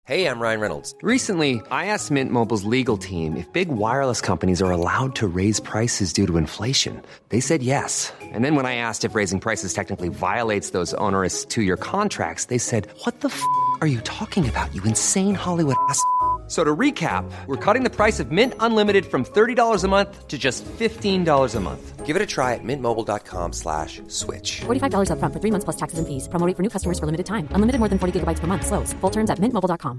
Hey, I'm Ryan Reynolds. Recently, I asked Mint Mobile's legal team if big wireless companies are allowed to raise prices due to inflation. They said yes. And then when I asked if raising prices technically violates those onerous two-year contracts, they said, "What the f*** are you talking about, you insane Hollywood ass?" So to recap, we're cutting the price of Mint Unlimited from $30 a month to just $15 a month. Give it a try at mintmobile.com/switch. $45 up front for 3 months plus taxes and fees. Promo rate for new customers for limited time. Unlimited more than 40 gigabytes per month. Slows full terms at mintmobile.com.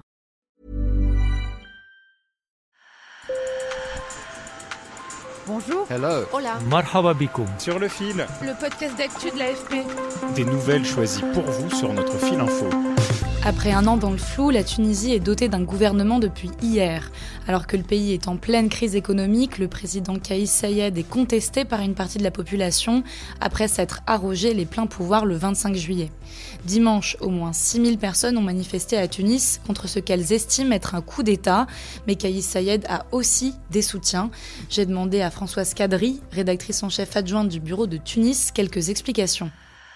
Bonjour. Hello. Hola. Marhaba bikoum. Sur le fil. Le podcast d'actu de l'AFP. Des nouvelles choisies pour vous sur notre fil info. Après un an dans le flou, la Tunisie est dotée d'un gouvernement depuis hier. Alors que le pays est en pleine crise économique, le président Kais Saied est contesté par une partie de la population après s'être arrogé les pleins pouvoirs le 25 juillet. Dimanche, au moins 6000 personnes ont manifesté à Tunis contre ce qu'elles estiment être un coup d'État, mais Kais Saied a aussi des soutiens. J'ai demandé à Françoise Kadri, rédactrice en chef adjointe du bureau de Tunis, quelques explications.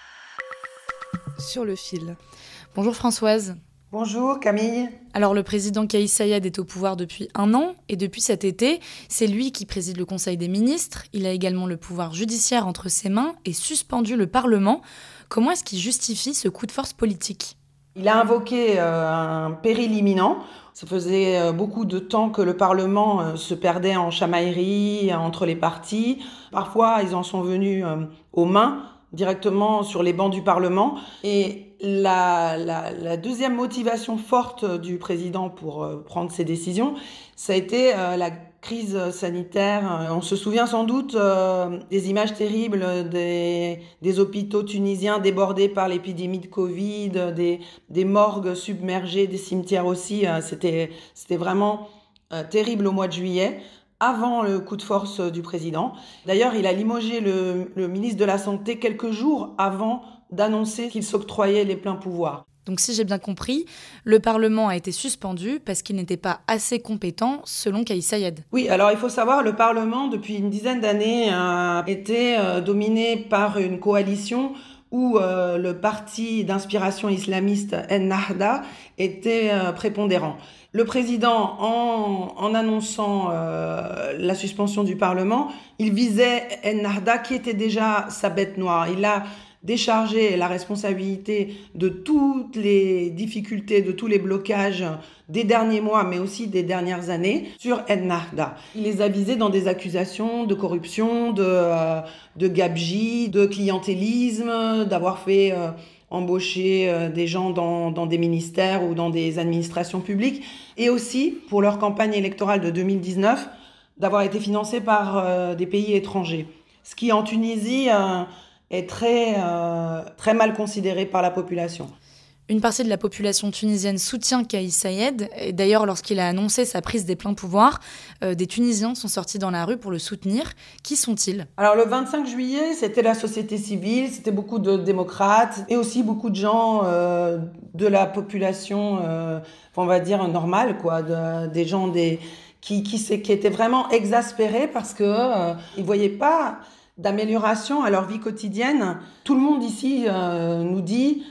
Sur le fil. Bonjour Françoise. Bonjour Camille. Alors le président Kais Saied est au pouvoir depuis un an et depuis cet été, c'est lui qui préside le Conseil des ministres. Il a également le pouvoir judiciaire entre ses mains et suspendu le Parlement. Comment est-ce qu'il justifie ce coup de force politique ? Il a invoqué un péril imminent. Ça faisait beaucoup de temps que le Parlement se perdait en chamailleries entre les partis. Parfois, ils en sont venus aux mains, directement sur les bancs du Parlement. Et la deuxième motivation forte du président pour prendre ces décisions, ça a été la crise sanitaire. On se souvient sans doute des images terribles des hôpitaux tunisiens débordés par l'épidémie de Covid, des morgues submergées, des cimetières aussi. C'était vraiment terrible au mois de juillet, avant le coup de force du président. D'ailleurs, il a limogé le ministre de la Santé quelques jours avant d'annoncer qu'il s'octroyait les pleins pouvoirs. Donc si j'ai bien compris, le Parlement a été suspendu parce qu'il n'était pas assez compétent selon Kais Saied. Oui, alors il faut savoir, le Parlement, depuis une dizaine d'années, a été dominé par une coalition où le parti d'inspiration islamiste Ennahda était prépondérant. Le président, en annonçant la suspension du Parlement, il visait Ennahda qui était déjà sa bête noire. Il a déchargé la responsabilité de toutes les difficultés, de tous les blocages des derniers mois, mais aussi des dernières années, sur Ennahda. Il les a visés dans des accusations de corruption, de gabegie, de clientélisme, d'avoir fait embaucher des gens dans des ministères ou dans des administrations publiques, et aussi, pour leur campagne électorale de 2019, d'avoir été financés par des pays étrangers. Ce qui, en Tunisie, est très mal considéré par la population. Une partie de la population tunisienne soutient Kais Saied. Et d'ailleurs, lorsqu'il a annoncé sa prise des pleins pouvoirs, des Tunisiens sont sortis dans la rue pour le soutenir. Qui sont-ils ? Alors le 25 juillet, c'était la société civile, c'était beaucoup de démocrates et aussi beaucoup de gens de la population, on va dire normale, quoi, des gens qui étaient vraiment exaspérés parce que ils voyaient pas d'amélioration à leur vie quotidienne. Tout le monde ici nous dit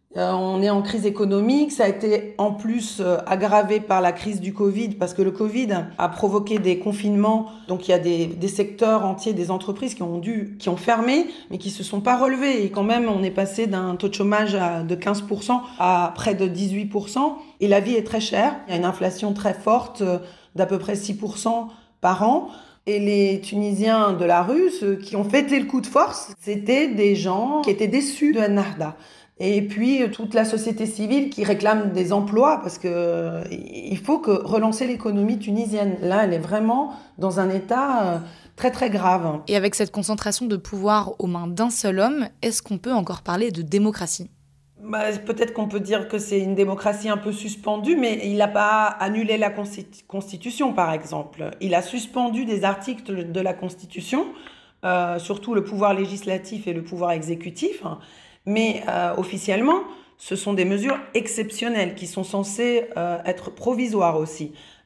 on est en crise économique, ça a été en plus aggravé par la crise du Covid, parce que le Covid a provoqué des confinements, donc il y a des secteurs entiers, des entreprises qui ont fermé, mais qui se sont pas relevés, et quand même on est passé d'un taux de chômage de 15% à près de 18%, et la vie est très chère, il y a une inflation très forte d'à peu près 6% par an. Et les Tunisiens de la rue, ceux qui ont fêté le coup de force, c'était des gens qui étaient déçus de Ennahda. Et puis toute la société civile qui réclame des emplois, parce que il faut relancer l'économie tunisienne. Là, elle est vraiment dans un état très très grave. Et avec cette concentration de pouvoir aux mains d'un seul homme, est-ce qu'on peut encore parler de démocratie ? Peut-être qu'on peut dire que c'est une démocratie un peu suspendue, mais il n'a pas annulé la Constitution, par exemple. Il a suspendu des articles de la Constitution, surtout le pouvoir législatif et le pouvoir exécutif. Mais officiellement, ce sont des mesures exceptionnelles qui sont censées être provisoires aussi.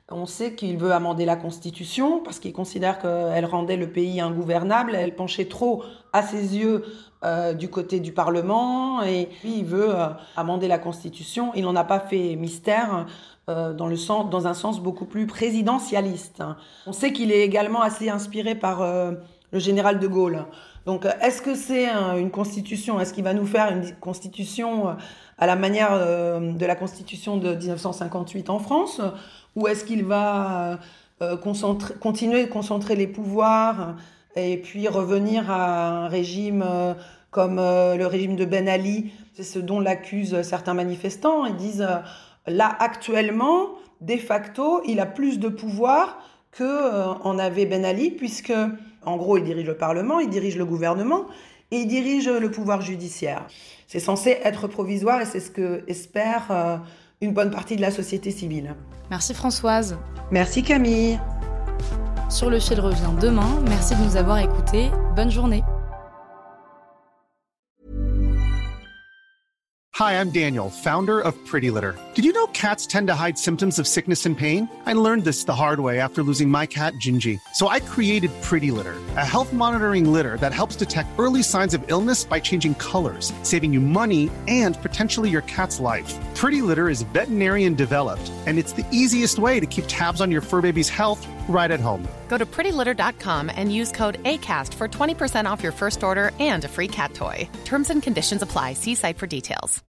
On sait qu'il veut amender la Constitution parce qu'il considère qu'elle rendait le pays ingouvernable. Elle penchait trop, à ses yeux, du côté du Parlement. Et puis, il veut amender la Constitution. Il n'en a pas fait mystère dans un sens beaucoup plus présidentialiste. On sait qu'il est également assez inspiré par le général de Gaulle. Donc, est-ce que c'est une constitution ? Est-ce qu'il va nous faire une constitution à la manière de la constitution de 1958 en France ? Ou est-ce qu'il va continuer de concentrer les pouvoirs et puis revenir à un régime comme le régime de Ben Ali ? C'est ce dont l'accusent certains manifestants. Ils disent là, actuellement, de facto, il a plus de pouvoir qu'en avait Ben Ali, puisque, en gros, il dirige le Parlement, il dirige le gouvernement et il dirige le pouvoir judiciaire. C'est censé être provisoire et c'est ce que espère une bonne partie de la société civile. Merci Françoise. Merci Camille. Sur le fil revient demain. Merci de nous avoir écoutés. Bonne journée. Hi, I'm Daniel, founder of Pretty Litter. Did you know cats tend to hide symptoms of sickness and pain? I learned this the hard way after losing my cat, Gingy. So I created Pretty Litter, a health monitoring litter that helps detect early signs of illness by changing colors, saving you money and potentially your cat's life. Pretty Litter is veterinarian developed, and it's the easiest way to keep tabs on your fur baby's health right at home. Go to prettylitter.com and use code ACAST for 20% off your first order and a free cat toy. Terms and conditions apply. See site for details.